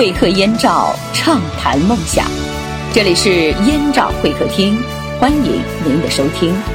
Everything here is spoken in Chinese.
会客燕赵，畅谈梦想。这里是燕赵会客厅，欢迎您的收听。